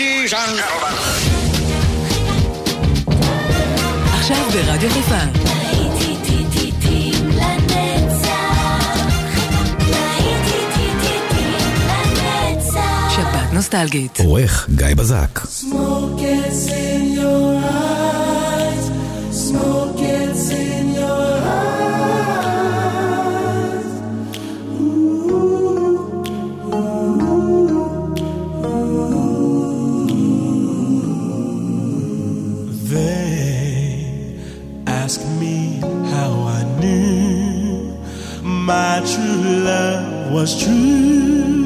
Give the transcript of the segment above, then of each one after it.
Ladies and gentlemen. עכשיו ברדיו חיפה. שבת נוסטלגית. עורך גיא בזק. Smoke gets in your eyes. Smoke gets in your eyes. They ask me how I knew my true love was true.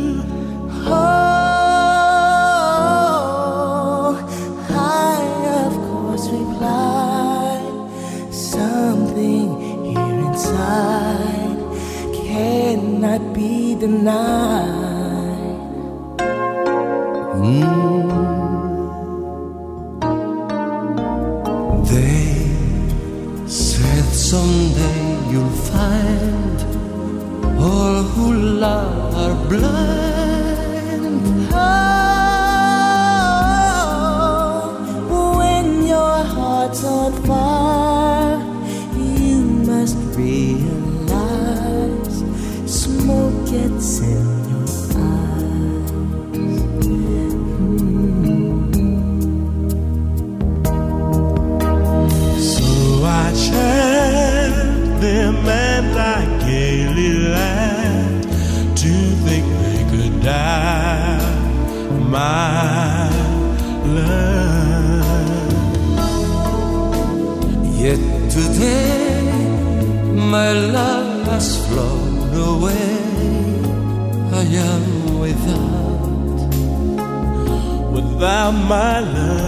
Oh, I of course replied, something here inside cannot be denied. They said someday you'll find all who love are blind. Oh, when your heart's on fire, you must realize smoke gets in your eyes. So I chant them and I gaily laugh to think they could die, my love. Yet today my love has flown away. I am without my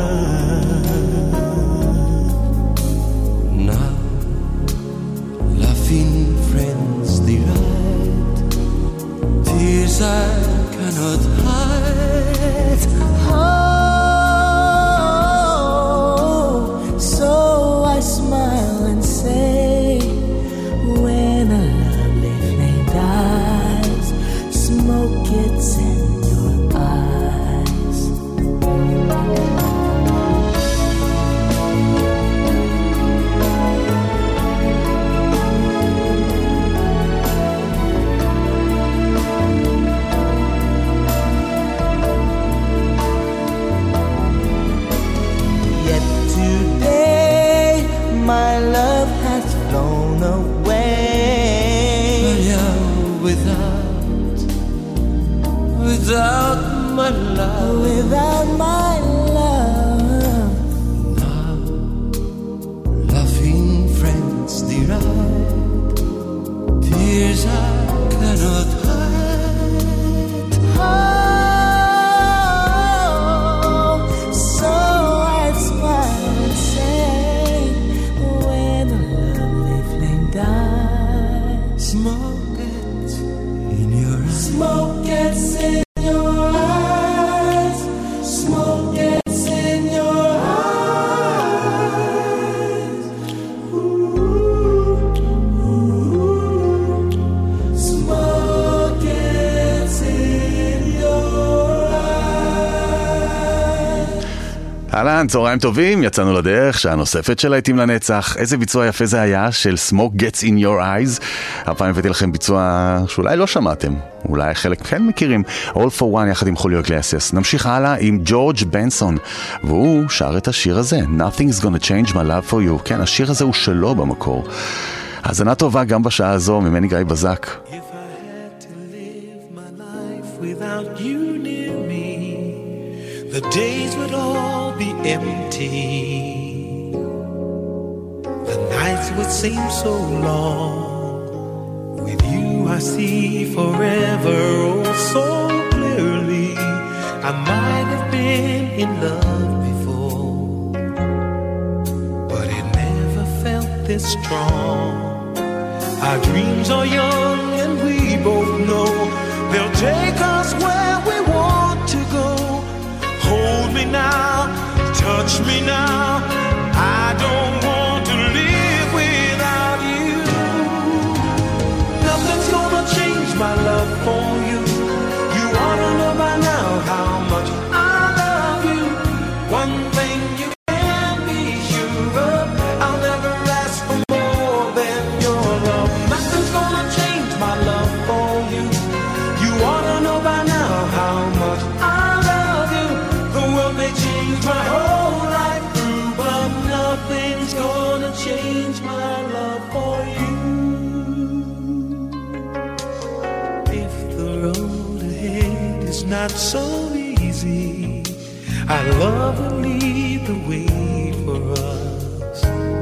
love. Now laughing friends deride, tears I cannot hide. Oh, so I smile and say, when a lovely flame dies, smoke gets in your eyes. My love has flown away. Without my love. Without my love. Now, laughing friends deride, tears I cannot hide. Oh, so I smile and say, smoke gets in your eyes. Smoke gets in your eyes. Smoke gets in your eyes. Ooh, ooh. Smoke gets in your eyes. אהלן, צהריים טובים, יצאנו לדרך, שעה נוספת של להיטים לנצח. איזה ביצוע יפה זה היה של Smoke Gets in Your Eyes. הפעם הבאתי לכם ביצוע שאולי לא שמעתם, אולי חלק כן מכירים, All for One יחד עם חוליו איגלסיאס. נמשיך הלאה עם ג'ורג' בנסון, והוא שר את השיר הזה, Nothing's gonna change my love for you. כן, השיר הזה הוא שלו במקור. האזנה טובה גם בשעה הזו, ממני גיא בזק. If I had to live my life without you near me, the days would all be empty. The nights would seem so long. With you I see forever oh so clearly. I might have been in love before, but it never felt this strong. Our dreams are young and we both know they'll take us where we want to go. Hold me now, touch me now. I don't want to live without you. Nothing's gonna change my love for you. You ought to know by now how much I love you. not so easy. Our love will lead the way for us,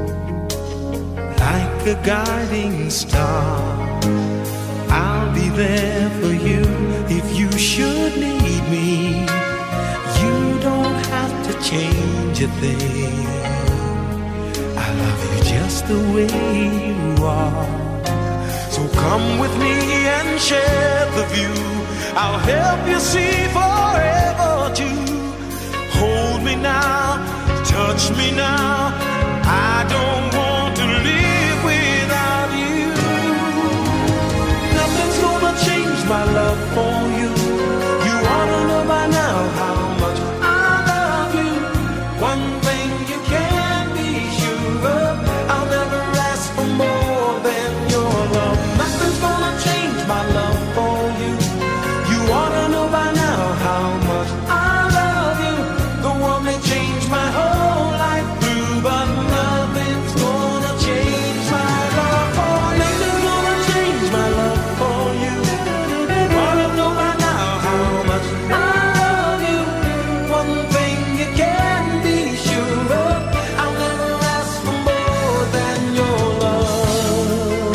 like a guiding star. I'll be there for you if you should need me. You don't have to change a thing. I love you just the way you are. So come with me and share the view. I'll help you see forever too. Hold me now, touch me now. I don't want to live without you. Nothing's gonna change my love for you. You ought to know by now how much I love you. One thing you can be sure of, I'll never ask for more than your love. Nothing's gonna change my love for you. You ought to know by now how much I love you. The world may change my whole life through, but nothing's gonna change my love for you. Nothing's gonna change my love for you. You ought to know by now how much I love you. One thing you can be sure of, I'll never ask for more than your love.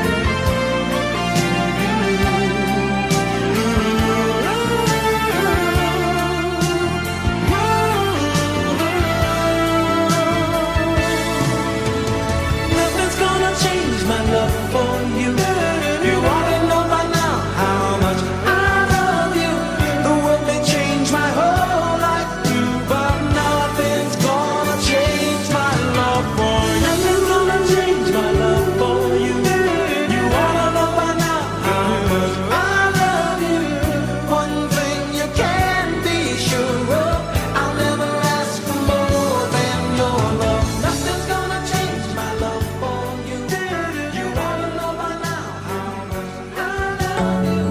Nothing's gonna change my love for you. You ought to know by now how much I love you. The world may change my whole life through, but nothing's gonna change my love for you. Nothing's gonna change my love for you. You ought to know by now how much I love you. One thing you can be sure of, I'll never ask for more than your love. Nothing's gonna change my love for you. You ought to know by now how much I love you.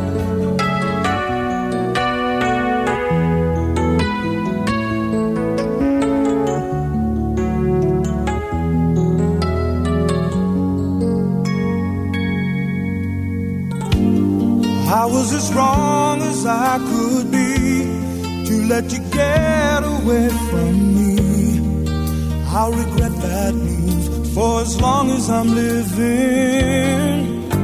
I was as wrong as I could be to let you get away from me. I'll regret that move for as long as I'm living.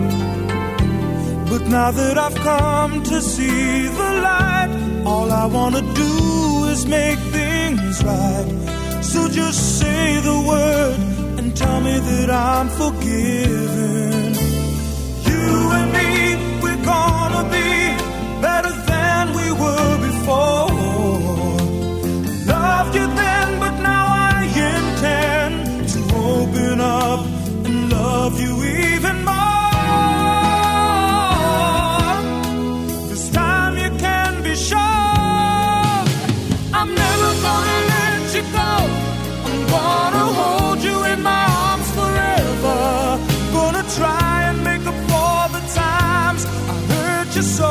But now that I've come to see the light, all I wanna do is make things right. So just say the word and tell me that I'm forgiven. You and me, we're gonna be better than we were before. Loved you then, but now I intend to open up and love you even more. This time you can be sure I'm never gonna let you go. I'm gonna hold you in my arms forever. Gonna try and make up for the times I hurt you so.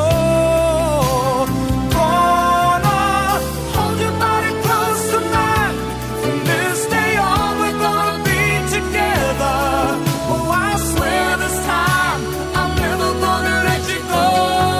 Gonna hold your body close to mine. From this day on, we're gonna be together. Oh, I swear this time I'm never gonna let you go.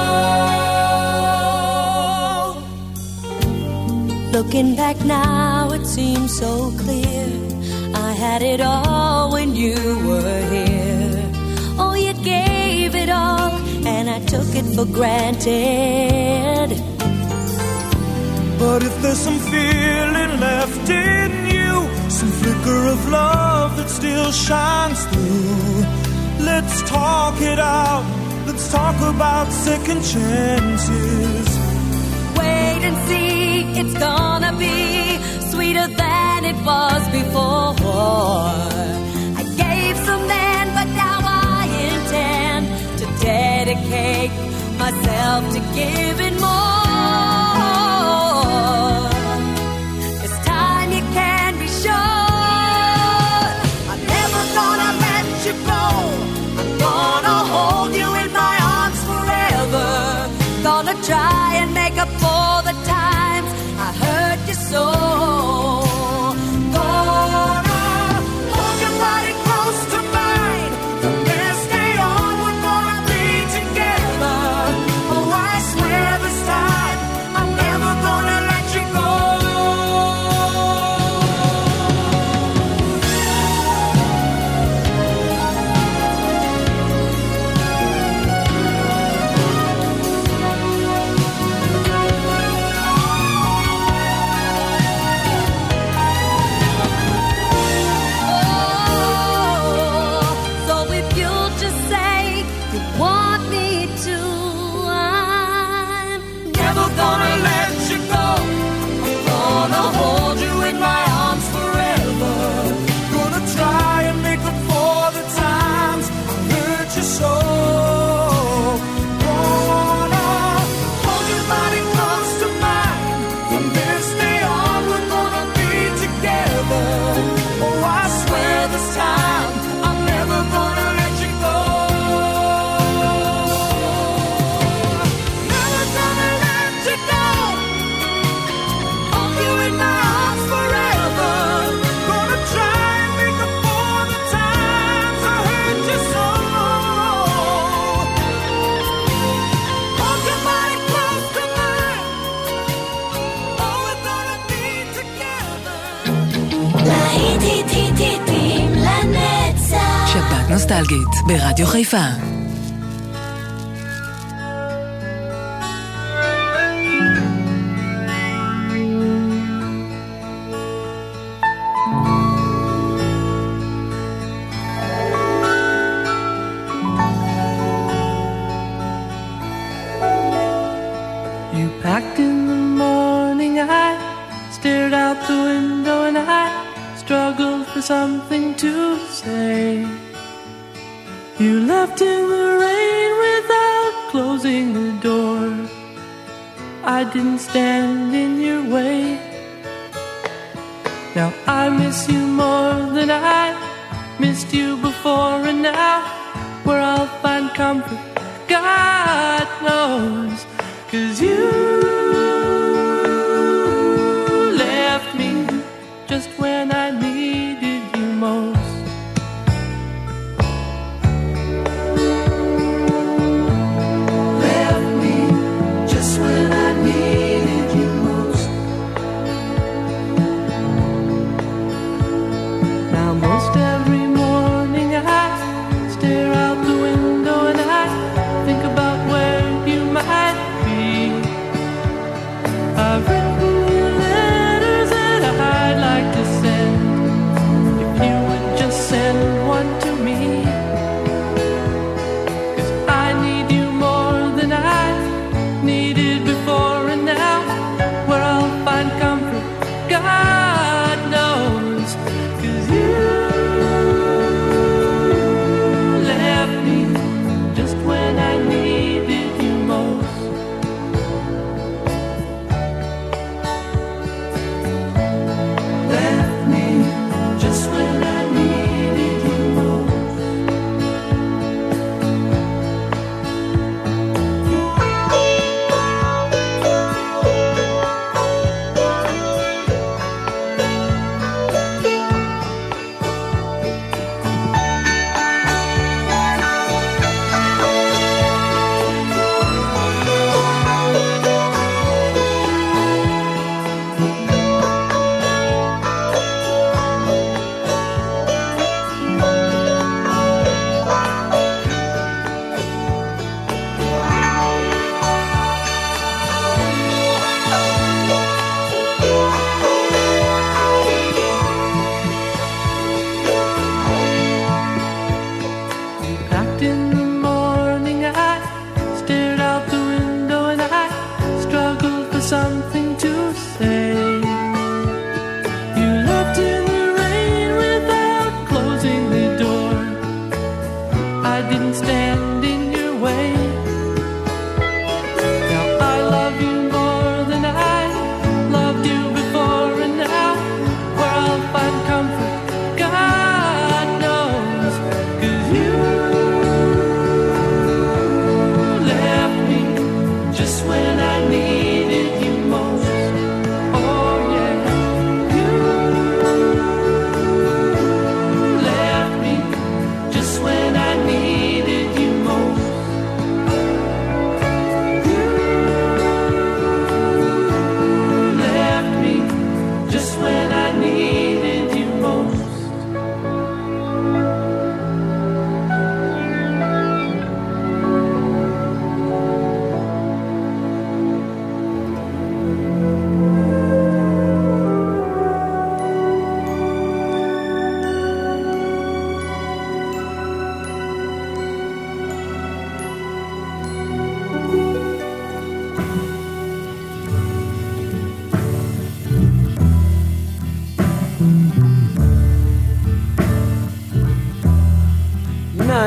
Looking back now, it seems so clear. I had it all when you were here. Oh, you gave it all, and I took it for granted. But if there's some feeling left in you, some flicker of love that still shines through, let's talk it out. Let's talk about second chances. Wait and see, it's gonna be sweeter than it was before. I gave some then, but now I intend to dedicate myself to giving more. This time you can be sure I'm never gonna let you go. I'm gonna hold you in my arms forever. Gonna try and make up for the times I hurt you so. Gonna hold your body close to mine. From this day on, we're gonna be together. Oh, I swear Gonna hold you in my arms forever. Gonna try and make up for the times I hurt you so. Gonna hold your body close to mine. From this day on we're gonna be together. Oh, I swear this time I'm never gonna let you go. Never gonna let you go. Hold you in my arms forever. Gonna try and make up for the times I hurt you so. Hold your body close to mine. Oh, we're gonna be together. להיטים לנצח. שבת נוסטלגית ברדיו חיפה. You packed in the morning, I stared out the window and I struggled for something to say. You left in the rain without closing the door. I didn't stand in your way. Now I miss you more than I missed you before, and now where I'll find comfort, God knows. 'Cause you left me just when I needed you most. Left me just when I needed you most. Now most every morning I stare out the window and I think about where you might be. I've written you letters that I'd like to send. If you would just send one to me. 'Cause I need you more than I needed before, and now where I'll find comfort, God knows. 'Cause you left me just when I needed you most. Left me just when I needed you most.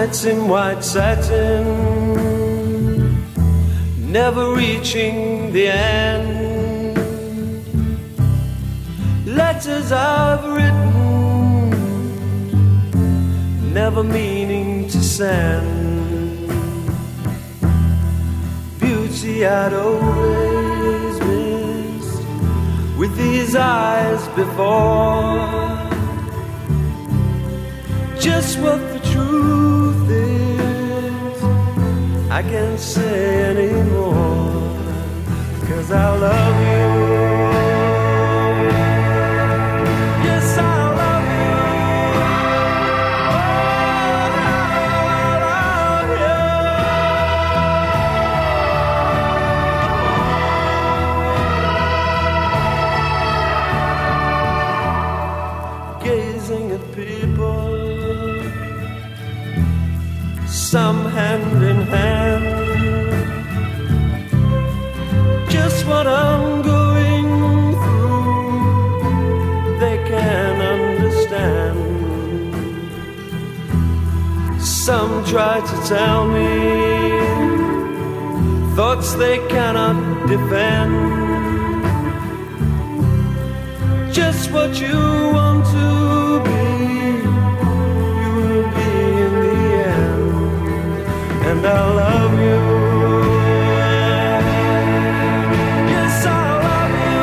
Planets in white satin, never reaching the end. Letters I've written, never meaning to send. Beauty I'd always missed with these eyes before. Just what the truth is, I can't say anymore, 'cause I love you. Yes, I love you. Gazing at people, some hand in hand, just what I'm going through, they can understand. Some try to tell me thoughts they cannot defend. Just what you want to be, you will be in the end. And I love you. Yes, I love you.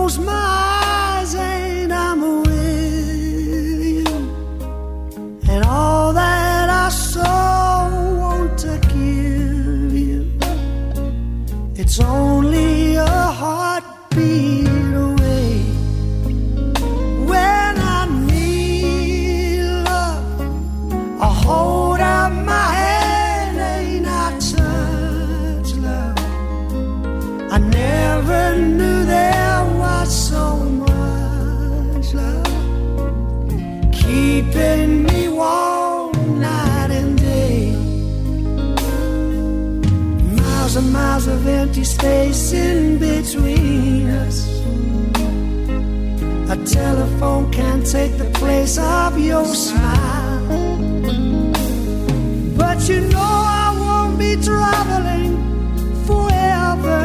close my eyes and I'm with you, and all that I so want to give you, it's only a heartbeat away. When I need love, I hold out my hand and I touch love. I never knew there was so much love, keeping me warm night and day. Miles and miles of empty space in between us. A telephone can't take the place of your smile. But you know I won't be traveling forever.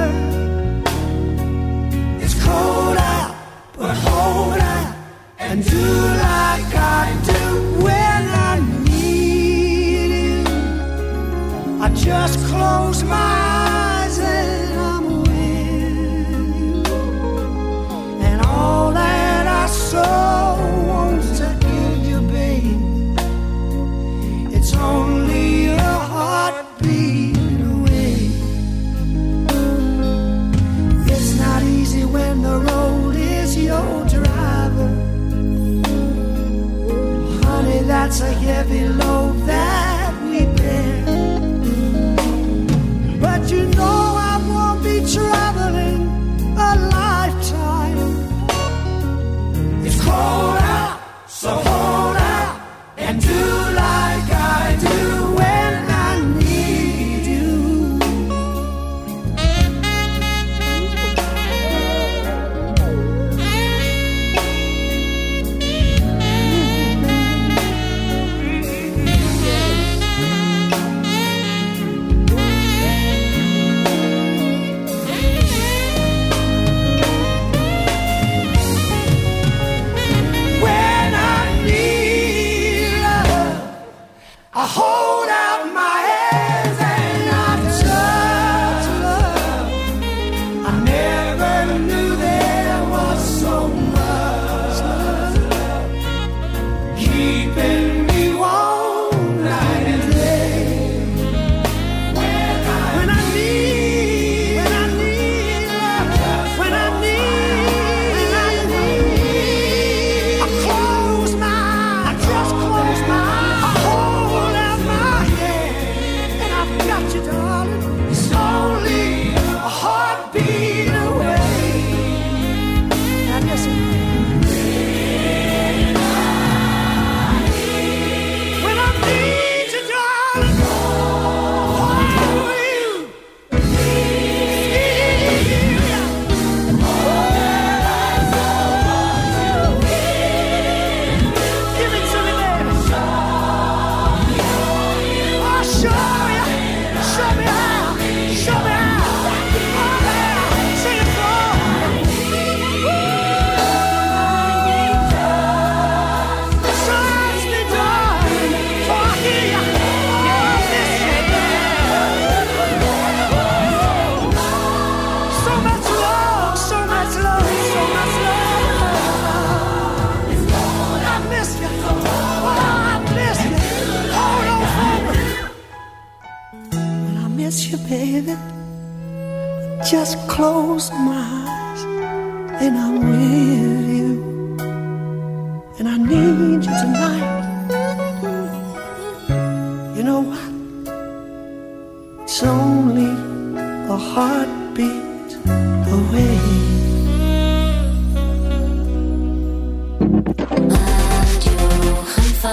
It's cold out, but hold out and do like I do when I need you. I just close my eyes and I'm with you, and all that I so want to give you, babe, it's only a heartbeat away. It's not easy when the road is your driver. Honey, that's a heavy load that we bear. But you know I won't be traveling a lifetime. It's cold out, so hold out and do like I do when I need you. When I need love, I hold out my hands and I touch love. I never knew there was so much love, keeping me warm night and day. When I need love, when I need, I close my eyes, I just close my eyes, I hold out my hand, and I've got you, darling. It's only a heartbeat away. Now listen. When I need you, darling, hold you. Give it to me, baby. I'll show you. Show me how. Show me how. Oh, yeah. Sing it for me. Touch me, darling, for I hear you. Oh, listen, so much love, so much love, so much love. I miss you. Oh, I miss you. Hold on for me. When I miss you, baby, just close my eyes and I'm with you, and I need you tonight. You know what? It's only a heartbeat away. רדיו חיפה.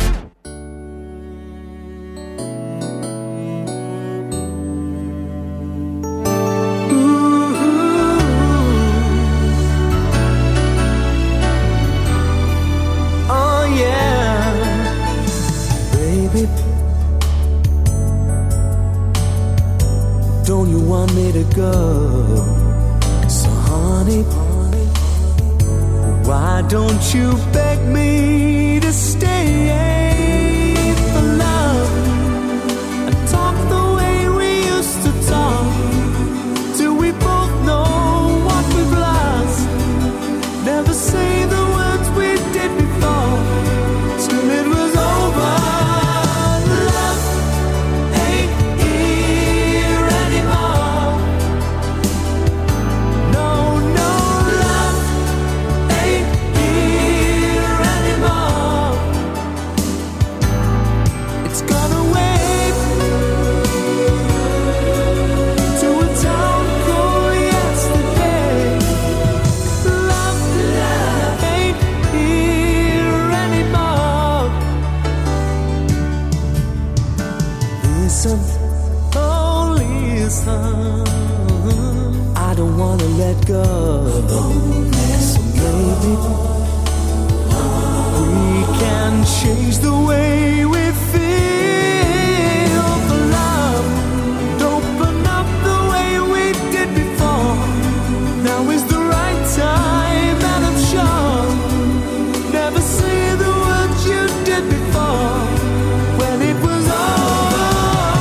Oh yeah, baby, don't you want me to go? So honey, why don't you beg me to stay for love and talk the way we used to talk till we both know what we've lost? changed the way we feel for love. Don't open up the way we did before. Now is the right time, and I'm sure. Never say the words you did before. When it was over.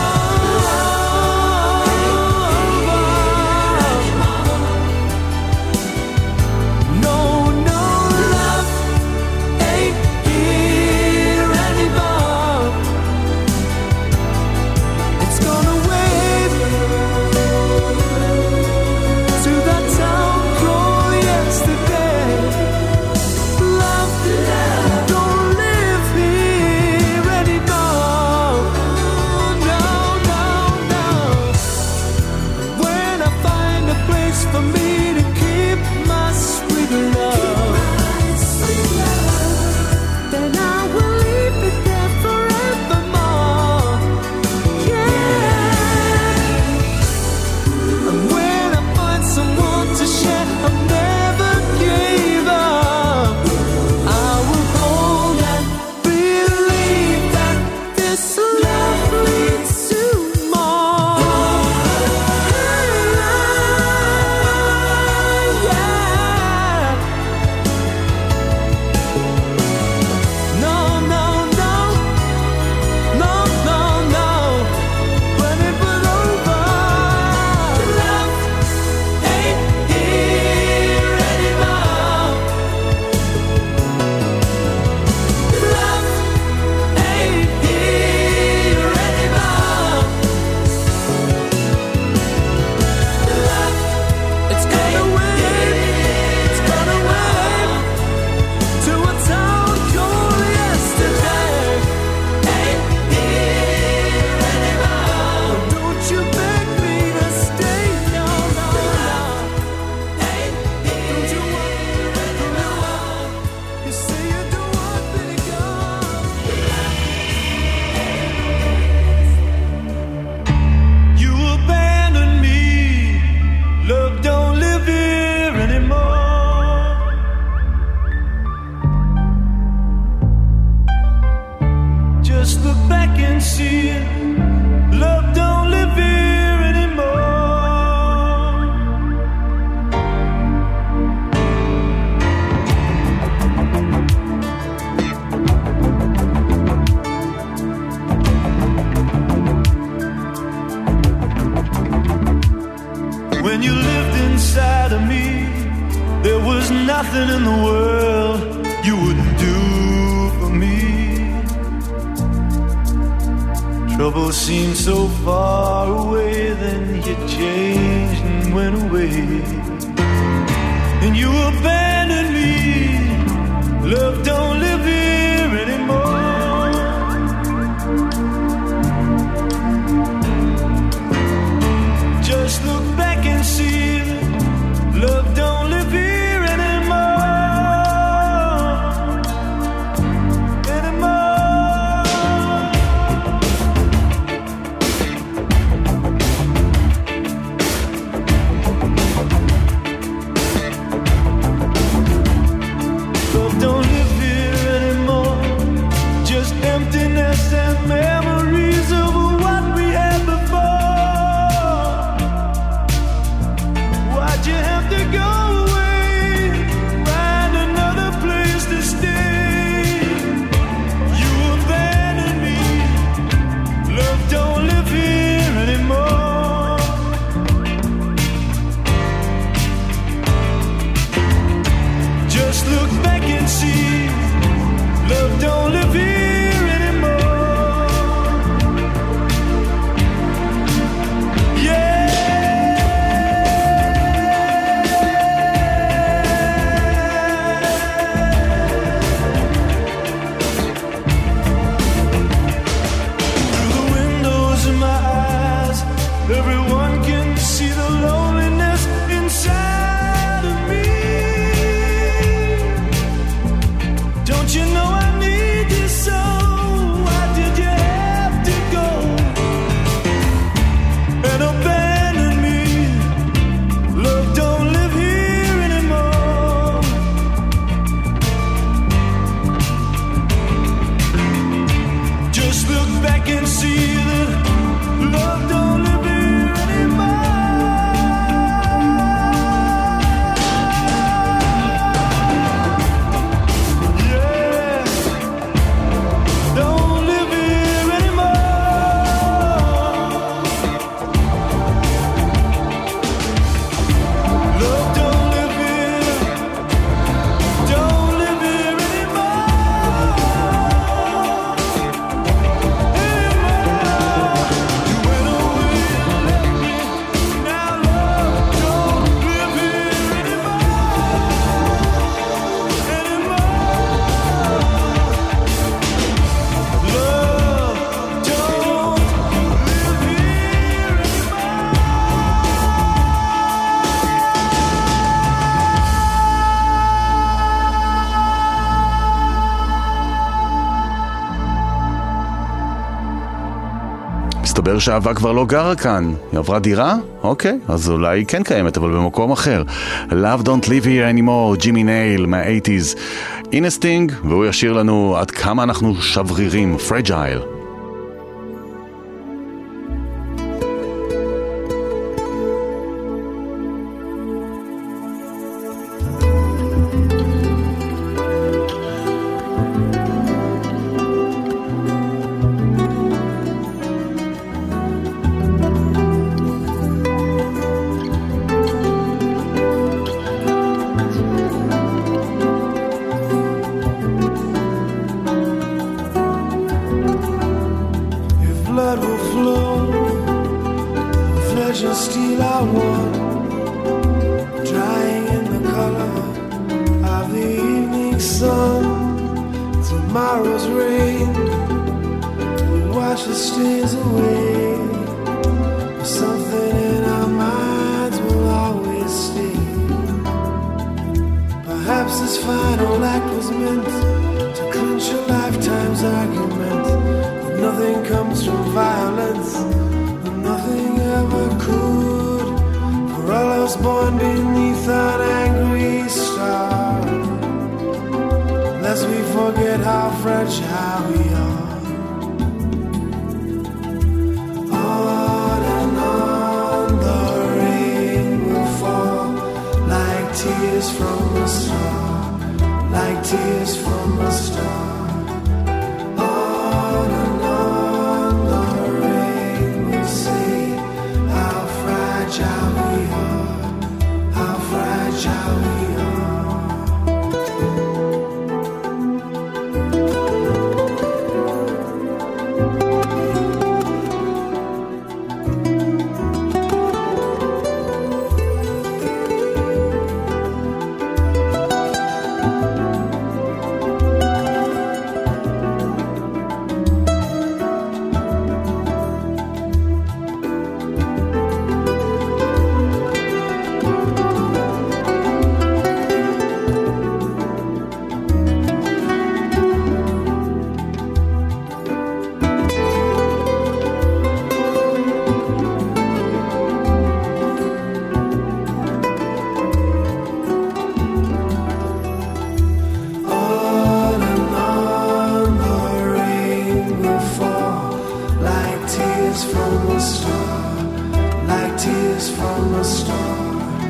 No, no, love ain't here anymore. It's gone away to that town called yesterday. Love don't live here anymore. No, no, no. When I find a place for me to keep my sweet love, then I will leave it there forevermore. Yeah. And when I find someone to share, I'll never give up. I will hold and believe that this love leads to more. Yeah. No, no, no. No, no, no. When it was over, love ain't here anymore. Love ain't here anymore. Love, it's gone away. It's gone away to a town called yesterday. Ain't here anymore. Don't you beg me to stay. No, no, no. Ain't here. Don't you want me to go? You say you don't want me to go. You abandoned me. Love don't live here anymore. Just look back and see it. Love don't live here anymore. When you lived inside of me, there was nothing in the world you wouldn't do for me. Trouble seemed so far away, then you changed and went away. And you abandoned me. Love don't live here anymore. Just look back and see that love don't live here anymore. Anymore. Love don't live here anymore. Just emptiness and memories of what we had before. Why'd you have to go away? Find another place to stay. You abandoned me. Love don't live here anymore. Just look back and see. Love don't live here anymore. Yeah. Through the windows in my eyes, everyone can see the loneliness inside of me. Don't you know I need you so? Why did you have to go and abandon me? Love don't live here anymore. can't see that love don't live here anymore. Yeah, don't live here anymore. Love don't live here, don't live here anymore. You went away and left me. Now love don't live here anymore. Love don't live here מסתבר שהאהבה כבר לא גרה כאן. היא עברה דירה? אוקיי, אז אולי היא כן קיימת, אבל במקום אחר. Love Don't Live Here Anymore, ג'ימי נייל מה-80s. הנה סטינג, והוא ישיר לנו עד כמה אנחנו שברירים, Fragile. If blood will flow, flesh and steel are one, drying in the color of the evening sun. Tomorrow's rain will wash the stains away, but something in our minds will always stay. Perhaps this final act was meant to clinch a lifetime's argument. Nothing comes from violence, and nothing ever could. For all us born beneath an angry star, lest we forget how fragile we are. On and on the rain will fall, like tears from a star, like tears from a star. On and on the rain will say how fragile we are, how fragile we are. On and on the rain will fall, like tears from a star, like tears from a star.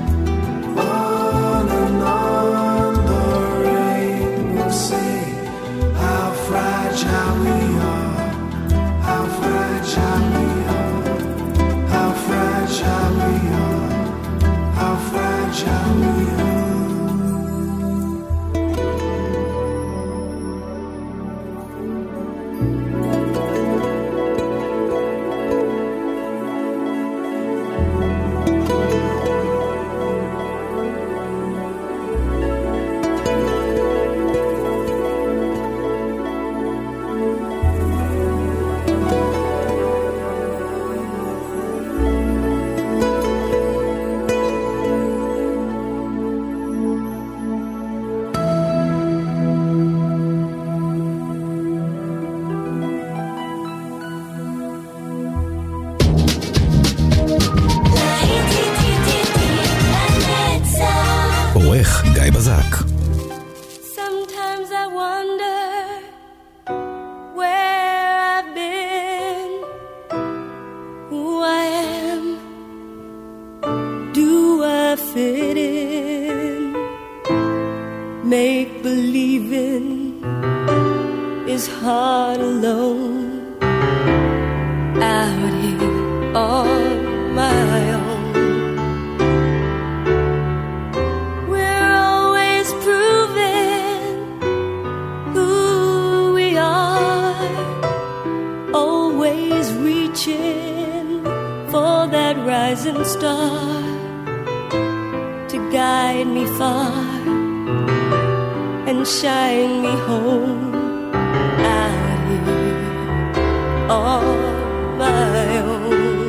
On and on the rain will say how fragile we are, how fragile we are, how fragile we are, how fragile we are. his heart alone, out here on my own. We're always proving who we are, always reaching for that rising star to guide me far and shine me home, out here on my own.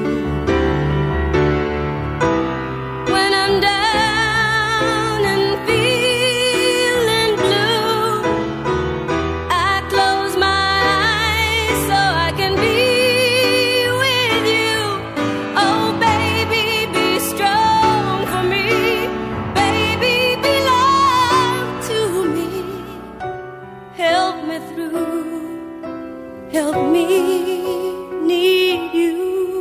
When I'm down and feeling blue, I close my eyes so I can be with you. Oh baby, be strong for me. Baby, be love to me. Help me through, help me need you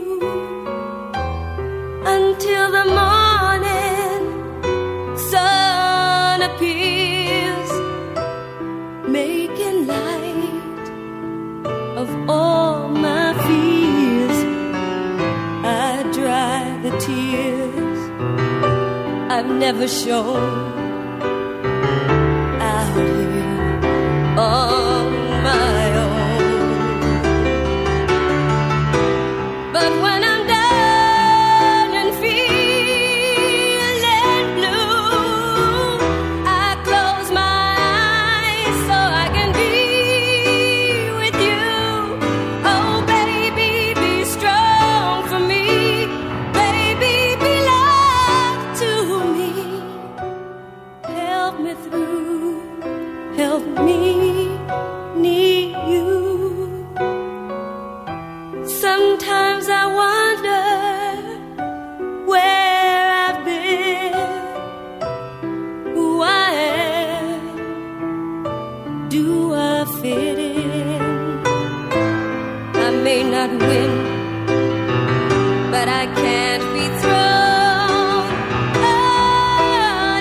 until the morning sun appears, making light of all my fears. I dry the tears I've never shown, out here on my own. But when I'm down and feeling blue, I close my eyes so I can be with you. Oh baby, be strong for me. Baby, be love to me. Help me through, help me need you. Sometimes I wonder where I've been, who I am, do I fit in? I may not win, but I can't be thrown out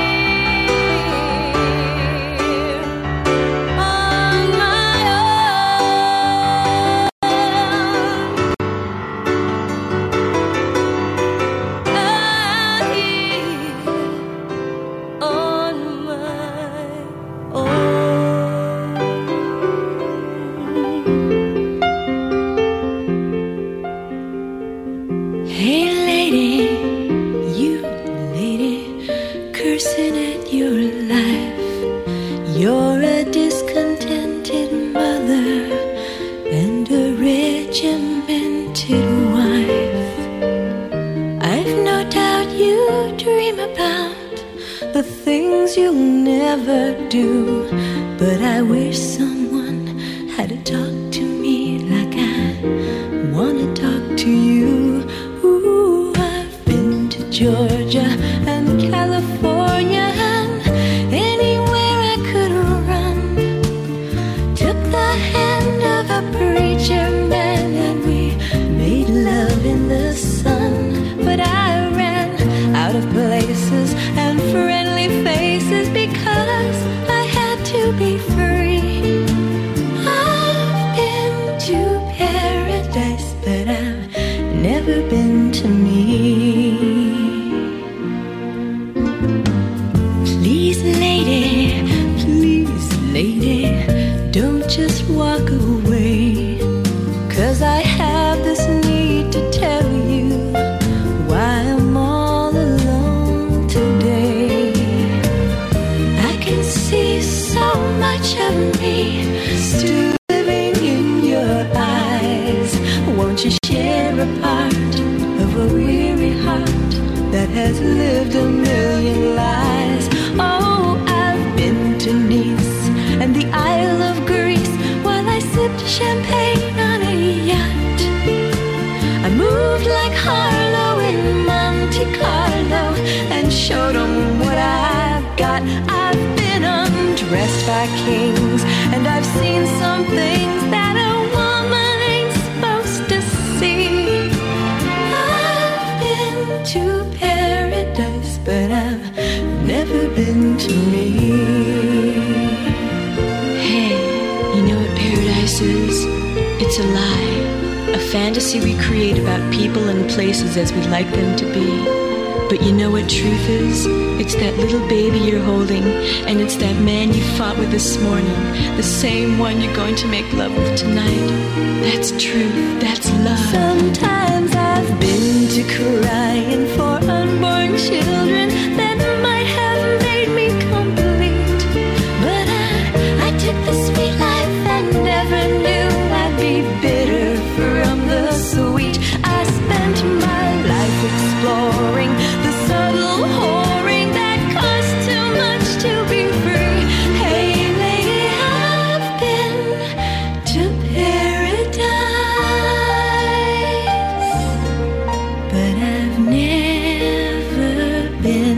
here on my own. Out here on my own. Hey lady, you lady, cursing at your life. You're a discontented mother and a regimented wife. I've no doubt you dream about the things you'll never do, but I wish someone had to talk to me like I wanna talk to you. Ooh, I've been to Georgia and California and anywhere I could run. Took the hand of a preacher man and we made love in the sun. But I ran out of places and friendly faces because I had to be free. I've been to paradise, but I've never been to me. Please lady, don't just walk away, 'cause I have this need to tell you why I'm all alone today. I can see so much of me still living in your eyes. Won't you share a part of a weary heart that has lived a million lives? Oh, I've been to Nice and the Isle of Greece while I sipped champagne on a yacht. I moved like Harlow in Monte Carlo and showed them what I've got. I've been undressed by kings and I've seen some things that a woman ain't supposed to see. I've been to paradise, but I've never been to me. Hey, you know what places, it's a lie. A fantasy we create about people and places as we'd like them to be. But you know what truth is? It's that little baby you're holding, and it's that man you fought with this morning, the same one you're going to make love with tonight. That's truth, that's love. Sometimes I've been to crying for unborn children that might have made me complete. But I took the sweet life and never knew I'd be bitter from the sweet. I spent my life exploring the subtle whoring that costs too much to be free. Hey lady, I've been to paradise, but I've never been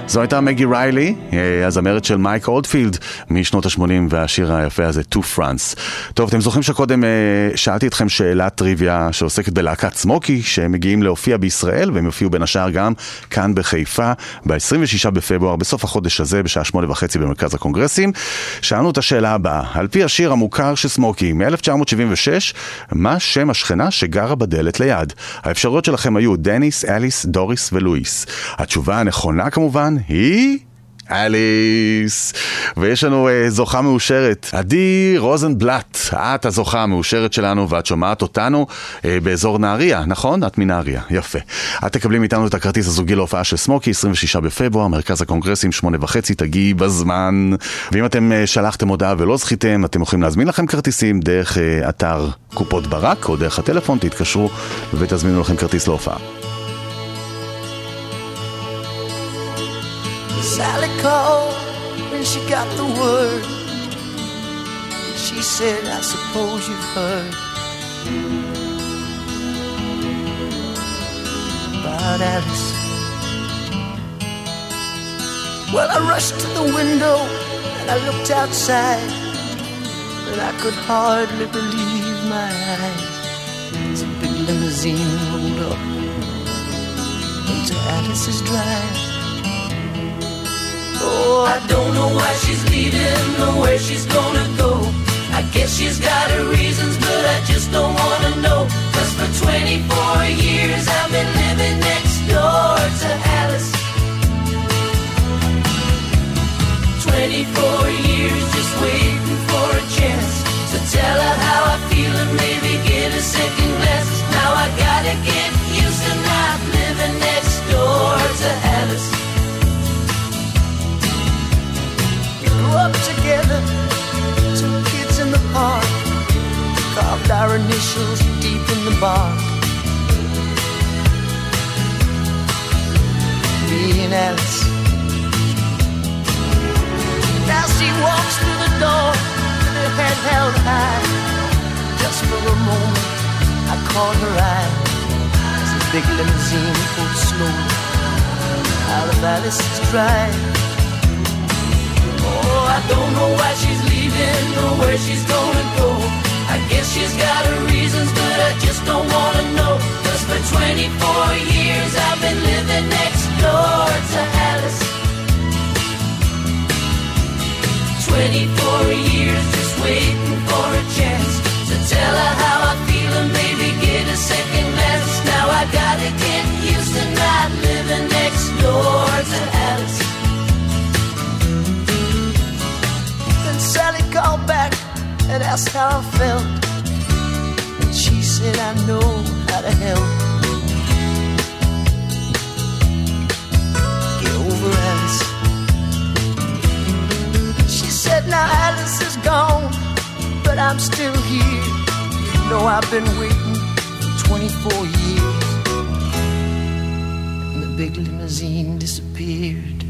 זו הייתה מגי ריילי, הזמרת של מייק אולדפילד משנות ה-80, והשיר היפה הזה, To France. טוב, אתם זוכרים שקודם שאלתי אתכם שאלת טריוויה שעוסקת בלהקת סמוקי, שהם מגיעים להופיע בישראל, והם יופיעו בין השאר גם כאן בחיפה, ב-26 בפברואר, בסוף החודש הזה, בשעה 8:30 במרכז הקונגרסים. שאלנו את השאלה הבאה, על פי השיר המוכר של סמוקי, מ-1976, מה שם השכנה שגרה בדלת ליד? האפשרויות שלכם היו דניס, אליס, דוריס ולואיס. התשובה הנכונה כמובן היא אליס. ויש לנו זוכה מאושרת, עדי רוזנבלט. את הזוכה המאושרת שלנו, ואת שומעת אותנו באזור נהריה, נכון? את מנהריה, יפה. את תקבלים איתנו את הכרטיס הזוגי להופעה של סמוקי, 26 בפברואר, מרכז הקונגרסים, 8:30, תגיעי בזמן. ואם אתם שלחתם הודעה ולא זכיתם, אתם יכולים להזמין לכם כרטיסים דרך אתר קופות ברק, או דרך הטלפון, תתקשרו ותזמינו לכם כרטיס להופעה. Sally called when she got the word. She said, I suppose you've heard about Alice. Well, I rushed to the window and I looked outside, and I could hardly believe my eyes as a big limousine rolled up into Alice's drive. Oh, I don't know why she's leaving or where she's gonna go. I guess she's got her reasons, but I just don't wanna know. 'Cause for 24 years I've been living next door to Alice. 24 years just waiting for a chance to tell her how I feel and maybe get a second glance. Now I gotta get used to not living next door to Alice. Up together, two kids in the park, carved our initials deep in the bark. Me and Alice. Now she walks through the door with her head held high. Just for a moment, I caught her eye as the big limousine pulled slowly out of Alice's drive. Oh, I don't know why she's leaving or where she's gonna go. I guess she's got her reasons, but I just don't wanna know. 'Cause for 24 years I've been living next door to Alice. 24 years just waiting for a chance to tell her how I feel and maybe get a second glance. Now I gotta get used to not living next door to Alice. Sally called back and asked how I felt, and she said, I know how to help. Get over Alice. She said, now Alice is gone, but I'm still here. You know I've been waiting for 24 years. And the big limousine disappeared.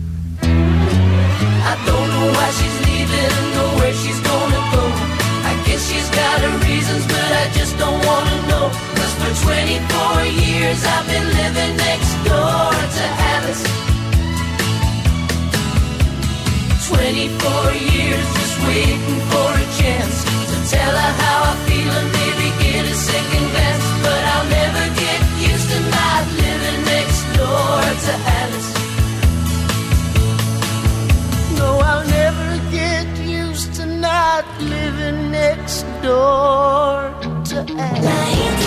I don't know why she's leaving or where she's gonna go. I guess she's got her reasons, but I just don't wanna know. 'Cause for 24 years I've been living next door to Alice. 24 years just waiting for a chance to tell her how I feel and maybe get a second glance. But I'll never get used to not living next door to Alice. No, I'll never get used to not living next door to Alice.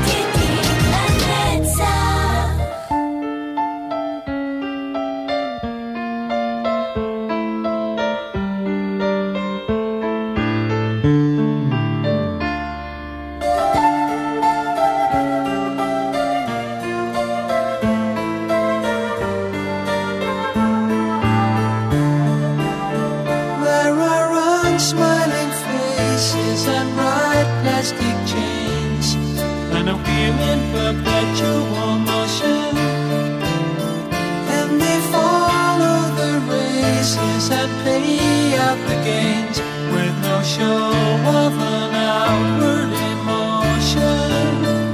Smiling faces and bright plastic chains, and a feeling perpetual motion. And they follow the races and pay out the gains with no show of an outward emotion.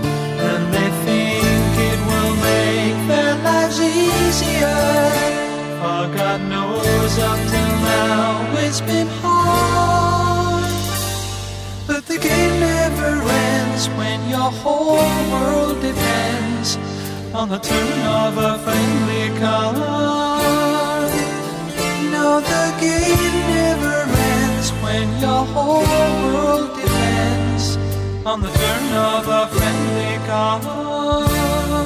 And they think it will make their lives easier the game never ends when your whole world depends on the turn of a friendly card. No, the game never ends when your whole world depends on the turn of a friendly card.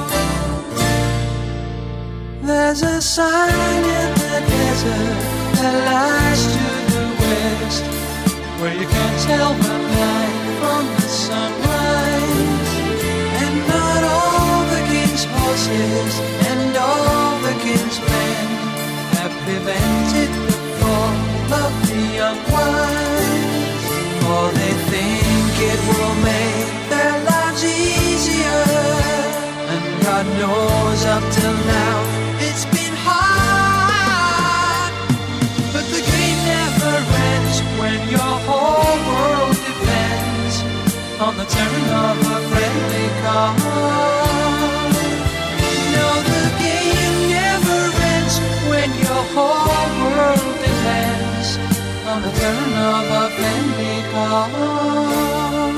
There's a sign in the desert that lies to the west, where you can't tell the night from the sunrise. And not all the king's horses and all the king's men have prevented the fall of the unwise. For they think it will make their lives easier, and God knows up till now it's been hard. But the game never ends when your whole world depends on the turn of a friendly card. No, the game never ends when your whole world depends on the turn of a friendly card.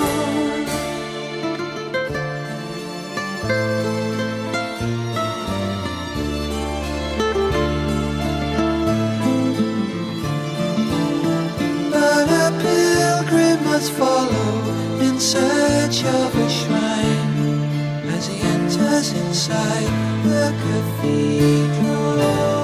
But a pilgrim must follow in search of a shrine as he enters inside the cathedral.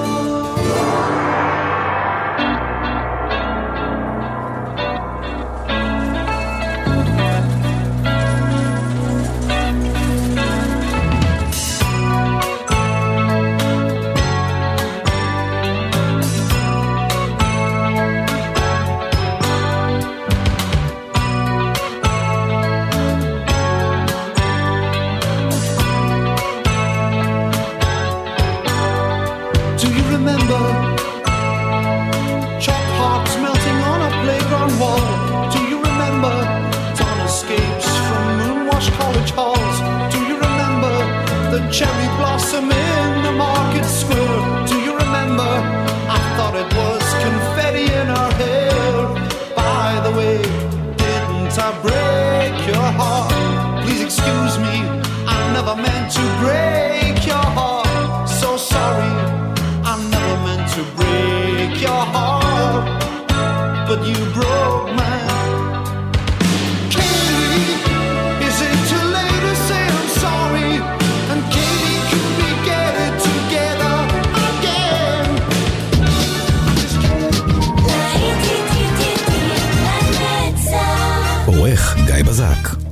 Cherry blossom in the market square. Do you remember? I thought it was confetti in our hair. By the way, didn't I break your heart? Please excuse me, I never meant to break your heart. So sorry, I never meant to break your heart, but you broke mine. עורך גיא בזק.